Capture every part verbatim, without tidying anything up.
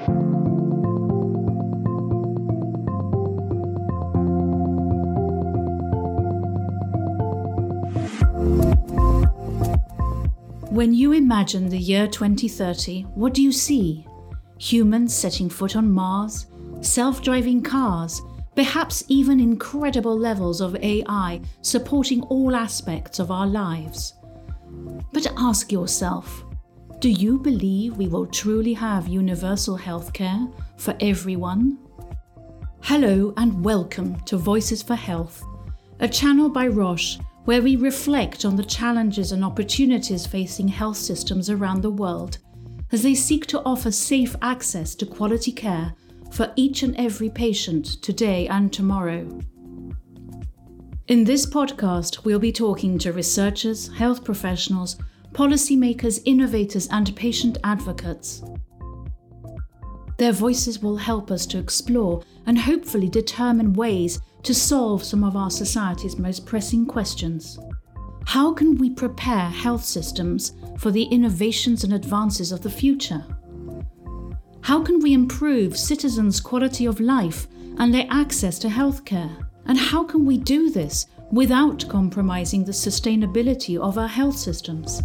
When you imagine the year twenty thirty, what do you see? Humans setting foot on Mars, self-driving cars, perhaps even incredible levels of A I supporting all aspects of our lives. But ask yourself, do you believe we will truly have universal healthcare for everyone? Hello and welcome to Voices for Health, a channel by Roche where we reflect on the challenges and opportunities facing health systems around the world as they seek to offer safe access to quality care for each and every patient today and tomorrow. In this podcast, we'll be talking to researchers, health professionals, policymakers, innovators, and patient advocates. Their voices will help us to explore and hopefully determine ways to solve some of our society's most pressing questions. How can we prepare health systems for the innovations and advances of the future? How can we improve citizens' quality of life and their access to healthcare? And how can we do this without compromising the sustainability of our health systems?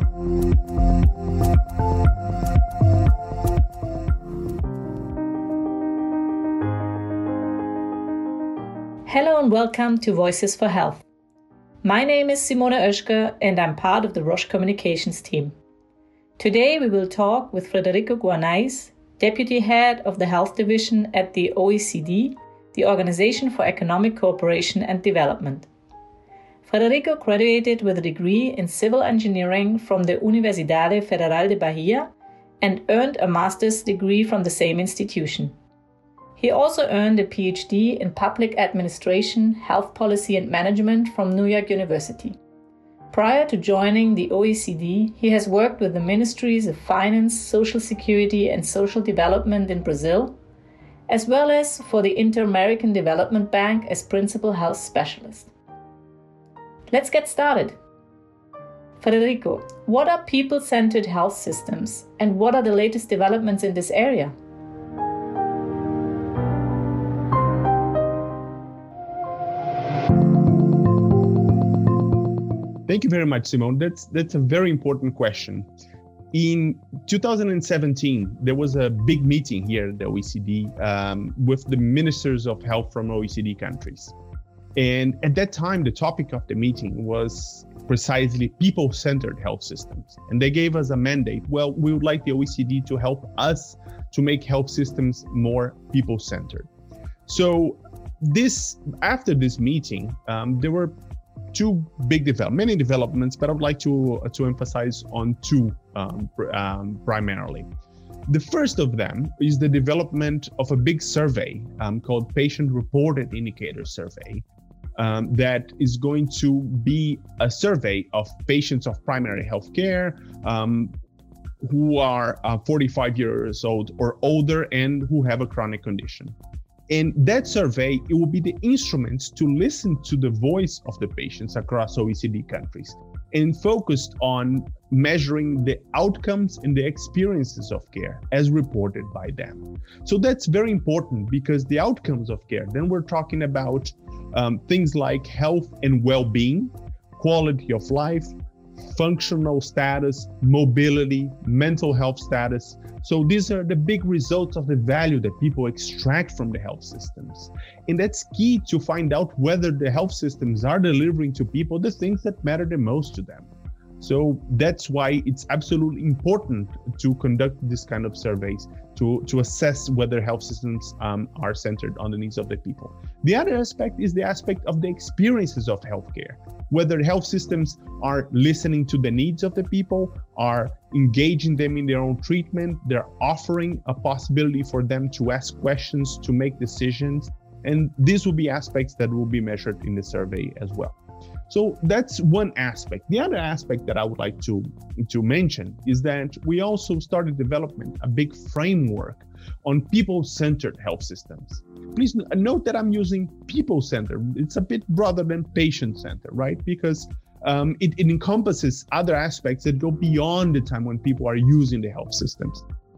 Hello and welcome to Voices for Health. My name is Simone Oeschger and I'm part of the Roche Communications team. Today we will talk with Frederico Guarnais, Deputy Head of the Health Division at the O E C D, the Organization for Economic Cooperation and Development. Frederico graduated with a degree in civil engineering from the Universidade Federal de Bahia and earned a master's degree from the same institution. He also earned a P H D in Public Administration, Health Policy and Management from New York University. Prior to joining the O E C D, he has worked with the Ministries of Finance, Social Security and Social Development in Brazil, as well as for the Inter-American Development Bank as Principal Health Specialist. Let's get started. Frederico, what are people-centered health systems and what are the latest developments in this area? Thank you very much, Simone. That's that's a very important question. In two thousand seventeen, there was a big meeting here at the O E C D um, with the ministers of health from O E C D countries. And at that time, the topic of the meeting was precisely people-centered health systems. And they gave us a mandate. Well, we would like the O E C D to help us to make health systems more people-centered. So this, after this meeting, um, there were two big develop, many developments, but I would like to to emphasize on two um, pr- um, primarily. The first of them is the development of a big survey um, called Patient Reported Indicator Survey um, that is going to be a survey of patients of primary health care um, who are uh, forty-five years old or older and who have a chronic condition. And that survey, it will be the instruments to listen to the voice of the patients across O E C D countries and focused on measuring the outcomes and the experiences of care as reported by them. So that's very important because the outcomes of care, then we're talking about um, things like health and well-being, quality of life, functional status, mobility, mental health status. So these are the big results of the value that people extract from the health systems. And that's key to find out whether the health systems are delivering to people the things that matter the most to them. So that's why it's absolutely important to conduct this kind of surveys to, to assess whether health systems um, are centered on the needs of the people. The other aspect is the aspect of the experiences of healthcare, whether health systems are listening to the needs of the people, are engaging them in their own treatment, they're offering a possibility for them to ask questions, to make decisions. And these will be aspects that will be measured in the survey as well. So that's one aspect. The other aspect that I would like to, to mention is that we also started development, a big framework on people-centered health systems. Please note that I'm using people-centered. It's a bit broader than patient-centered, right? Because um, it, it encompasses other aspects that go beyond the time when people are using the health systems.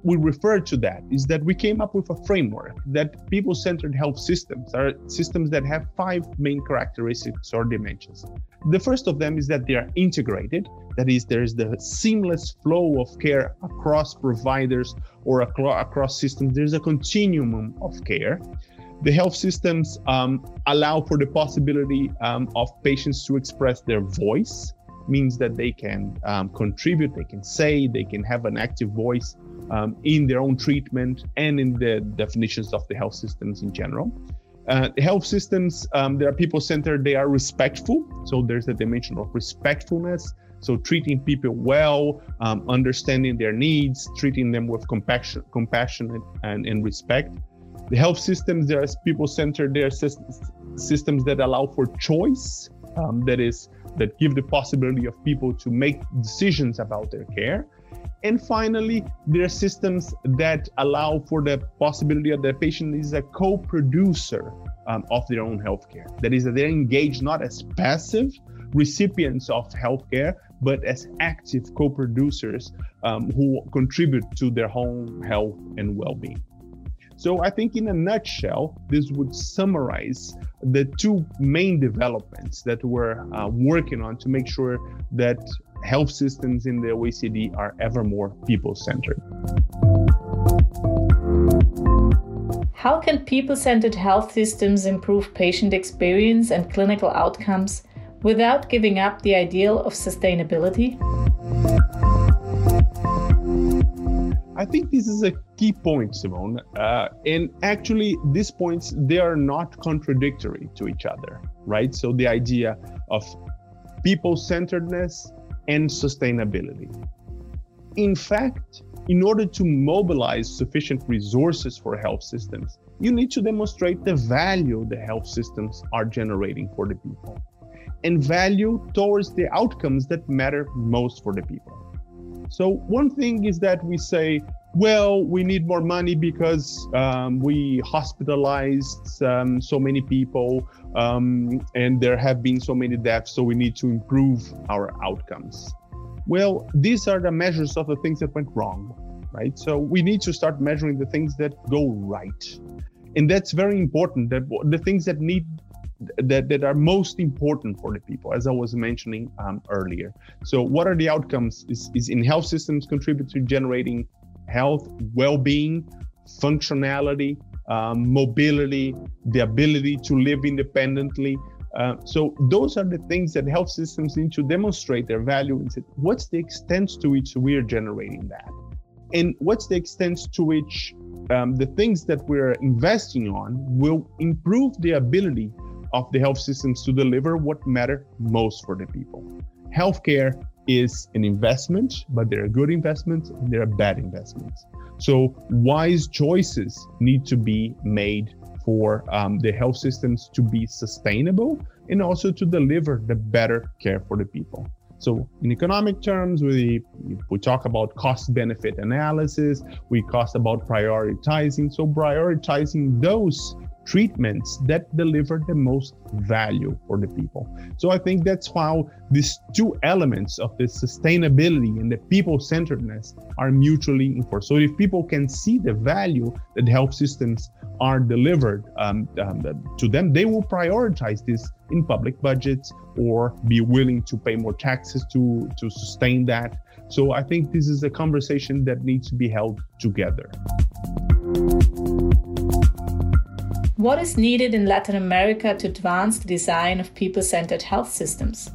we refer to that is that we came up with a framework that people-centered health systems are systems that have five main characteristics or dimensions. The first of them is that they are integrated. That is, there's the seamless flow of care across providers or across systems. There's a continuum of care. The health systems um, allow for the possibility um, of patients to express their voice, means that they can um, contribute, they can say, they can have an active voice um, in their own treatment and in the definitions of the health systems in general. Uh, health systems, um, they are people-centered, they are respectful. So there's a dimension of respectfulness. So treating people well, um, understanding their needs, treating them with compassion, compassion and, and respect. The health systems, they are people-centered, they are systems that allow for choice, um, that is, that give the possibility of people to make decisions about their care. And finally, there are systems that allow for the possibility that the patient is a co-producer um, of their own healthcare. That is, that they're engaged not as passive recipients of healthcare, but as active co-producers um, who contribute to their own health and well-being. So I think in a nutshell, this would summarize the two main developments that we're uh, working on to make sure that health systems in the O E C D are ever more people-centered. How can people-centered health systems improve patient experience and clinical outcomes without giving up the ideal of sustainability? I think this is a key point, Simone. Uh, and actually, these points, they are not contradictory to each other, right? So the idea of people-centeredness and sustainability. In fact, in order to mobilize sufficient resources for health systems, you need to demonstrate the value the health systems are generating for the people, and value towards the outcomes that matter most for the people. So one thing is that we say, well, we need more money because um, we hospitalized um, so many people um, and there have been so many deaths, so we need to improve our outcomes. Well, these are the measures of the things that went wrong, right? So we need to start measuring the things that go right. And that's very important, that the things that need That, that are most important for the people, as I was mentioning um, earlier. So what are the outcomes? Is, is in health systems contribute to generating health, well-being, functionality, um, mobility, the ability to live independently. Uh, so those are the things that health systems need to demonstrate their value and say, what's the extent to which we are generating that? And what's the extent to which um, the things that we're investing on will improve the ability of the health systems to deliver what matter most for the people. Healthcare is an investment, but there are good investments and there are bad investments. So wise choices need to be made for um, the health systems to be sustainable and also to deliver the better care for the people. So in economic terms, we, we talk about cost-benefit analysis, we talk about prioritizing. So prioritizing those treatments that deliver the most value for the people. So I think that's how these two elements of the sustainability and the people-centeredness are mutually enforced. So if people can see the value that health systems are delivered um, um, to them, they will prioritize this in public budgets or be willing to pay more taxes to, to sustain that. So I think this is a conversation that needs to be held together. What is needed in Latin America to advance the design of people-centered health systems?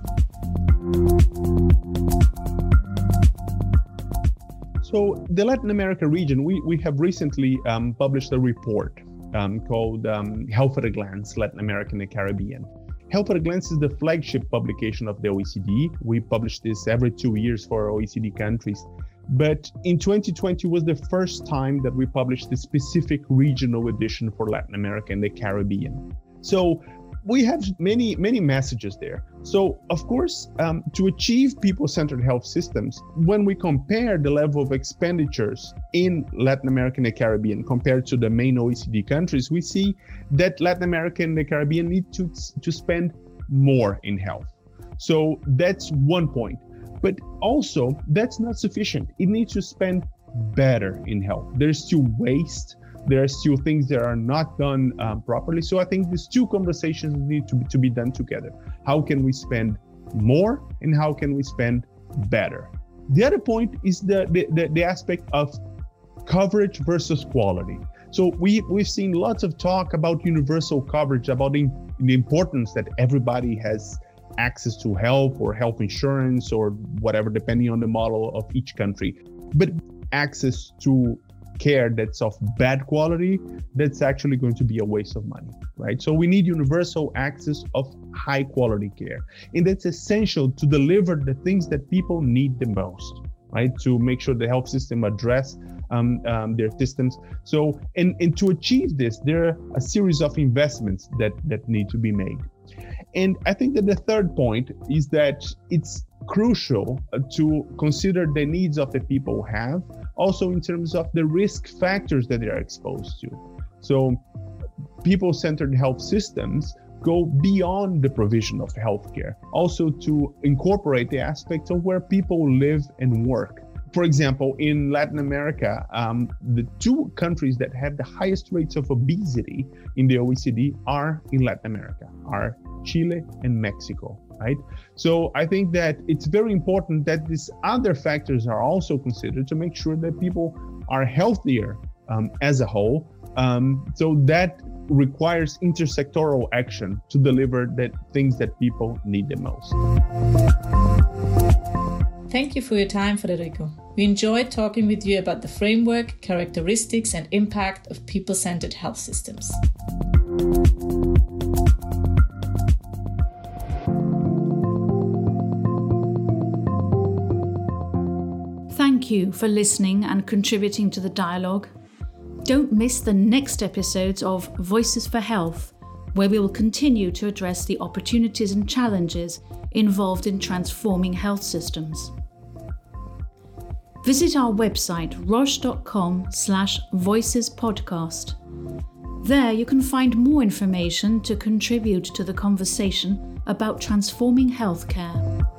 So the Latin America region, we, we have recently um, published a report um, called um, Health at a Glance, Latin America and the Caribbean. Health at a Glance is the flagship publication of the O E C D. We publish this every two years for O E C D countries. But in twenty twenty was the first time that we published the specific regional edition for Latin America and the Caribbean. So we have many, many messages there. So of course, um, to achieve people-centered health systems, when we compare the level of expenditures in Latin America and the Caribbean compared to the main O E C D countries, we see that Latin America and the Caribbean need to, to spend more in health. So that's one point. But also, that's not sufficient. It needs to spend better in health. There's still waste. There are still things that are not done um, properly. So I think these two conversations need to be, to be done together. How can we spend more and how can we spend better? The other point is the, the, the, the aspect of coverage versus quality. So we, we've seen lots of talk about universal coverage, about the, the importance that everybody has access to health or health insurance or whatever, depending on the model of each country. But access to care that's of bad quality, that's actually going to be a waste of money, right? So we need universal access of high quality care. And that's essential to deliver the things that people need the most, right? To make sure the health system address um, um, their systems. So, and, and to achieve this, there are a series of investments that, that need to be made. And I think that the third point is that it's crucial to consider the needs of the people have, also in terms of the risk factors that they are exposed to. So people-centered health systems go beyond the provision of healthcare, also to incorporate the aspects of where people live and work. For example, in Latin America, um, the two countries that have the highest rates of obesity in the O E C D are in Latin America, are Chile and Mexico, right? So I think that it's very important that these other factors are also considered to make sure that people are healthier um, as a whole. Um, so that requires intersectoral action to deliver the things that people need the most. Thank you for your time, Federico. We enjoyed talking with you about the framework, characteristics, and impact of people-centered health systems. Thank you for listening and contributing to the dialogue. Don't miss the next episodes of Voices for Health, where we will continue to address the opportunities and challenges involved in transforming health systems. Visit our website roche.com slash voices podcast. There you can find more information to contribute to the conversation about transforming healthcare.